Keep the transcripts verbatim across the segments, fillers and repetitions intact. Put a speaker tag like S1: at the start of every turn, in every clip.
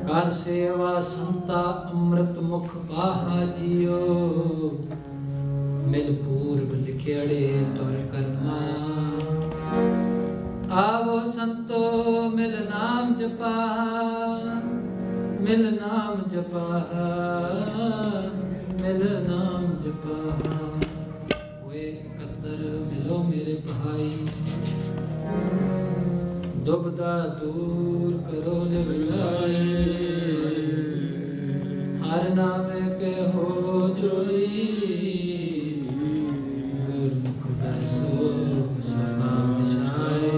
S1: ਕਰ ਸੇਵਾ ਸੰਤਾ ਅੰਮ੍ਰਿਤ ਮੁਖ ਪਾਹਾ ਜੀਓ। ਮਿਲ ਪੂਰਬ ਲਿਖਿਆੜੇ ਤੁਰ ਕਰਮਾ, ਆਵੋ ਸੰਤੋ ਮਿਲ ਨਾਮ ਜਪਾ, ਮਿਲ ਨਾਮ ਜਪਾ, ਮਿਲ ਨਾਮ ਜਪਾ। ਹੋਏ ਇਕੱਤਰ ਮਿਲੋ ਮੇਰੇ ਭਾਈ, ਦੁਬਦਾ ਦੂਰ ਕਰੋ ਲਿਵਲਾਏ। ਹਰ ਨਾਮੇ ਕੇ ਹੋ ਜੋਈ, ਗੁਰਮੁਖ ਬੈਸੋ ਸਦਾ ਵਿਛਾਏ।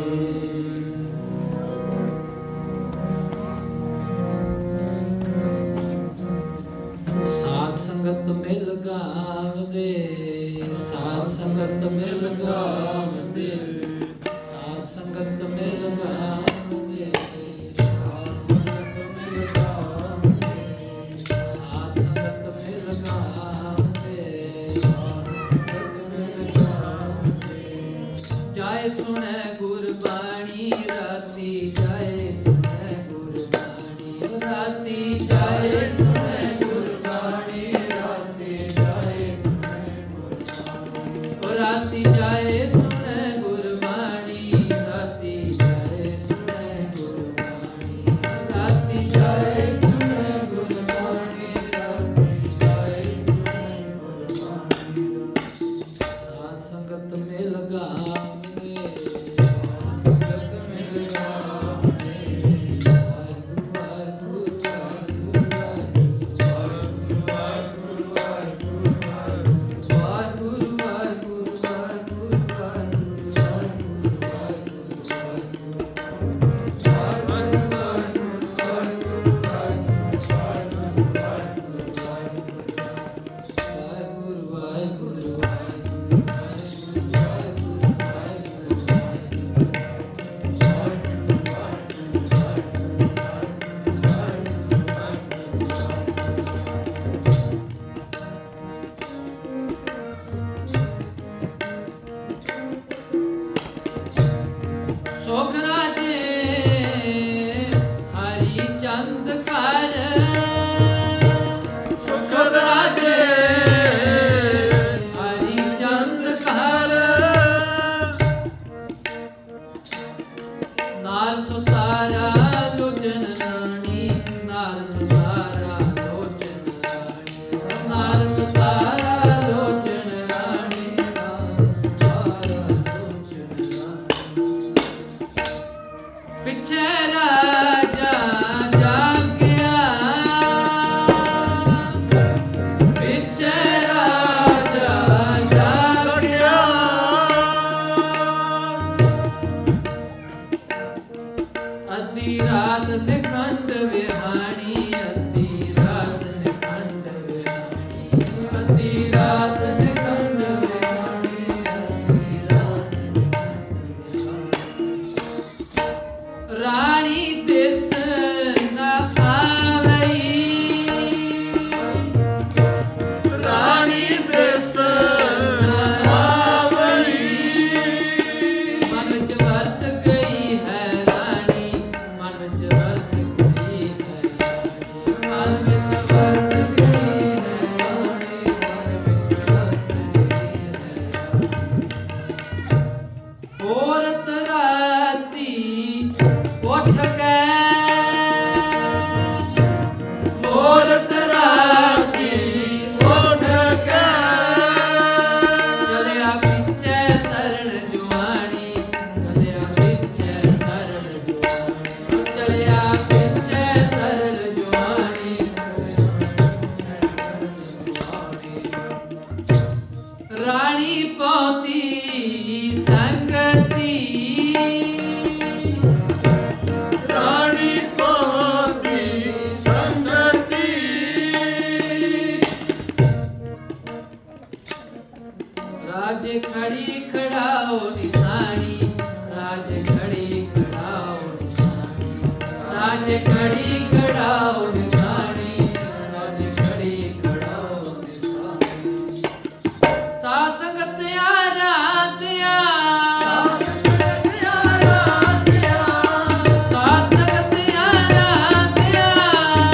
S1: ਸਾਧ ਸੰਗਤ ਮਿਲ ਗਾਵਦੇ, ਸਾਧ ਸੰਗਤ ਮਿਲ ਗਾਵਦੇ, ਸਾਧ ਸੰਗਤ ਮਿਲ ਗਾਵਦੇ, ਸਾਧ ਸੰਗਤ ਮਿਲ ਗਾਵਦੇ, ਸਾਧ ਸੰਗਤ ਮਿਲ ਗਾਵਦੇ, ਸਾਧ ਸੰਗਤ ਮਿਲ ਗਾਵਦੇ। ਜਾਏ ਸੁਣੈ ਗੁਰਬਾਣੀ ਰਾਤੀ, ਜਾਏ ਸੁਣੈ ਗੁਰਬਾਣੀ ਰਾਤੀ, ਜਾਏ ਸੁਣੈ ਗੁਰਬਾਣੀ ਰਾਤੀ, ਜਾਏ ਸੁਣੈ ਗੁਰਬਾਣੀ ਰਾਤੀ, ਜਾਏ ਸੁਣੈ ਗੁਰਬਾਣੀ ਰਾਤੀ, ਜਾਏ ਸੁਣੈ ਗੁਰਬਾਣੀ ਰਾਤੀ, ਜਾਏ ਸੁਣੈ ਗੁਰਬਾਣੀ ਰਾਤੀ, ਜਾਏ ਸੁਣੈ ਗੁਰਬਾਣੀ। ਸਾਧ ਸੰਗਤ ਮਿਲ ਗਾਵਦੇ, ਸਾਧ ਸੰਗਤ ਮਿਲ ਗਾਵਦੇ, ਵਾਹਿਗੁਰੂ ਵਾਹਿਗੁਰੂ ਵਾਹਿਗੁਰੂ ਵਾਹਿਗੁਰੂ ਵਾਹਿਗੁਰੂ ਵਾਹਿਗੁਰੂ ਵਾਹਿਗੁਰੂ ਵਾਹਿਗੁਰੂ ਵਾਹਿਗੁਰੂ ਸੁਖ ਰਾਜੇ ਹਰੀ ਚੰਦ ਕਰ, ਸੁਖ ਰਾਜੇ ਹਰੀ ਚੰਦ ਕਰ। ਨਾਰ ਸੁਤਾਰਾ ਲੋਚਨ ਰਾਣੀ, ਨਾਰ ਸੁਤਾਰਾ ਲੋਚਨ ਰਾਣੀ, ਨਾਰ ਸੁਤਾਰਾ ਲੋਚਨ ਰਾਣੀ, ਨਾਰ ਸੁਤਾਰਾ ਲੋਚਨ ਰਾਣੀ। ਪਿੱਛੇ ਰਾਜਾ ਜਾਗਿਆ, ਪਿੱਛੇ ਰਾਜਾ ਜਾਗਿਆ। ਅੱਧੀ ਰਾਤ ਦੇ ਖੰਡ ਵਿਹਾਣੀ, ਅੱਧੀ ਰਾਤ ਦੇ ਖੰਡ ਵਿਹਾਣੀ, ਅੱਧੀ ਰਾਤ ਦੇ ਖੰਡ ਵਿਹਾਣੀ, ਅੱਧੀ ਰਾਤ ਦੇ ਖੰਡ ਵਿਹਾਣੀ। ਰਾਣੀ ਦਿਸ ਨਾ ਆਵਈ, ਰਾਣੀ ਦਿਸ ਨਾ ਆਵਈ। ਮਨ ਵਿੱਚ ਵਰਤ ਗਈ ਹੈ ਰਾਣੀ, ਮਨ ਵਿੱਚ ਵਰਤ ਗਈ ਹੈ ਰਾਣੀ, ਮਨ ਵਿੱਚ ਵਰਤ ਗਈ ਹੈ ਰਾਣੀ, ਮਨ ਵਿੱਚ ਵਰਤ ਗਈ ਹੈ ਰਾਣੀ। ਔਰਤ ਰਾਤੀ ਉੱਠ ਕੇ, ਔਰਤ ਰਾਤੀ ਉੱਠ ਕੇ, ਚਲਿਆ ਪਿੱਛੇ ਤਰਨ ਜੁਆਣੀ, ਚਲਿਆ ਪਿੱਛੇ ਤਰਨ ਜੁਆਣੀ, ਚਲਿਆ ਪਿੱਛੇ ਤਰਨ ਜੁਆਣੀ, ਰਾਣੀ ਪਹੁੰਚੀ ਸੰਗਤੀ, ਰਾਣੀ ਪਹੁੰਚੀ ਸੰਗਤੀ। ਰਾਜੇ ਖੜੀ ਖੜਾਓ ਨਿਸ਼ਾਨੀ, ਰਾਜੇ ਖੜੀ ਖੜਾਓ ਨਿਸ਼ਾਨੀ, ਰਾਜੇ ਖੜੀ ਖੜਾਓ ਨਿਸ਼ਾਨੀ, ਰਾਜੇ ਖੜੀ ਖੜਾਓ ਨਿਸ਼ਾਨੀ। ਸਾਧ ਸੰਗਤ ਆਰਾਧਿਆ, ਸਾਧ ਸੰਗਤ ਆਰਾਧਿਆ, ਸਾਧ ਸੰਗਤ ਆਰਾਧਿਆ,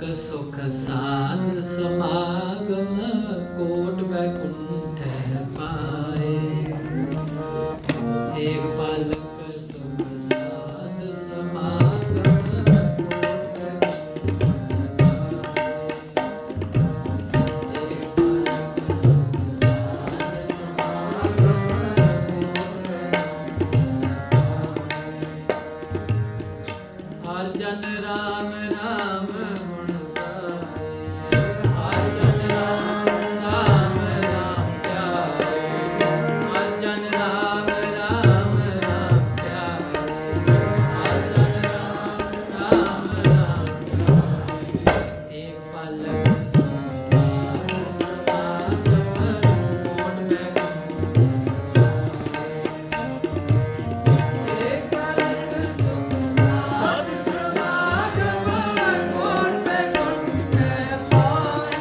S1: सुख साध समागम कोट बैकुंठ पाए। एक पालक सुख साध समागम कोट बैकुंठ पाए। एक पालक सुख साध समागम हर जन राम राम गुण गाए। हर जन राम राम राम ध्याए। हर जन राम राम राम ध्याए। हर जन राम राम राम ध्याए। एक पालक सुख साध समागम कोट बैकुंठ पाए। एक पालक सुख साध समागम कोट बैकुंठ पाए।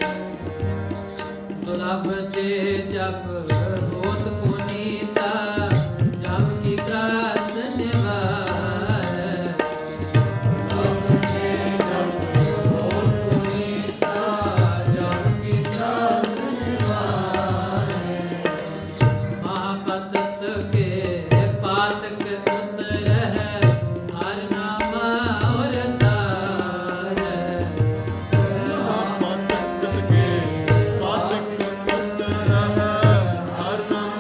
S1: दुर्लभ से जब होत पुनीता जब की त्रास निवारै। दुर्लभ से जब होत पुनीता जब की त्रास निवारै। महापतत के पातक उतरह हर नामा और तारै।
S2: महापतत के पातक उतरह हर नाम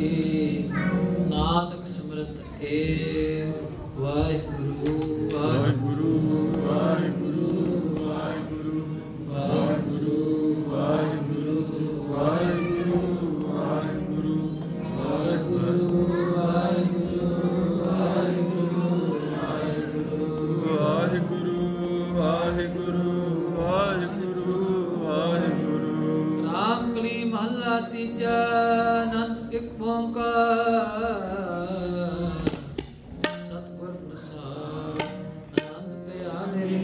S1: ਲਾਗੇ, ਨਾਨਕ ਸਿਮਰਤ ਏ ਵਾਹਿਗੁਰੂ ਵਾਹਿਗੁਰੂ ਵਾਹਿਗੁਰੂ ਵਾਹਿਗੁਰੂ ਵਾਹਿਗੁਰੂ ਵਾਹਿਗੁਰੂ ਵਾਹਿਗੁਰੂ ਵਾਹਿਗੁਰੂ ਵਾਹਿਗੁਰੂ ਵਾਹਿਗੁਰੂ
S2: ਵਾਹਿਗੁਰੂ ਵਾਹਿਗੁਰੂ ਵਾਹਿਗੁਰੂ ਵਾਹਿਗੁਰੂ।
S1: ਰਾਮ ਕਲੀ ਮਹੱਲਾ ਤੀਜਾ। ਅਨੰਦ ਇੱਕ ਓੰਕਾਰ ਸਤਿਗੁਰ ਪ੍ਰਸਾਦ। ਆਨੰਦ ਪਿਆ ਮੇਰੀ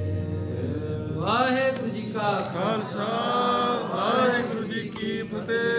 S2: ਖਾਲਸਾ ਵਾਹਿਗੁਰੂ ਜੀ ਕੀ ਫਤਿਹ।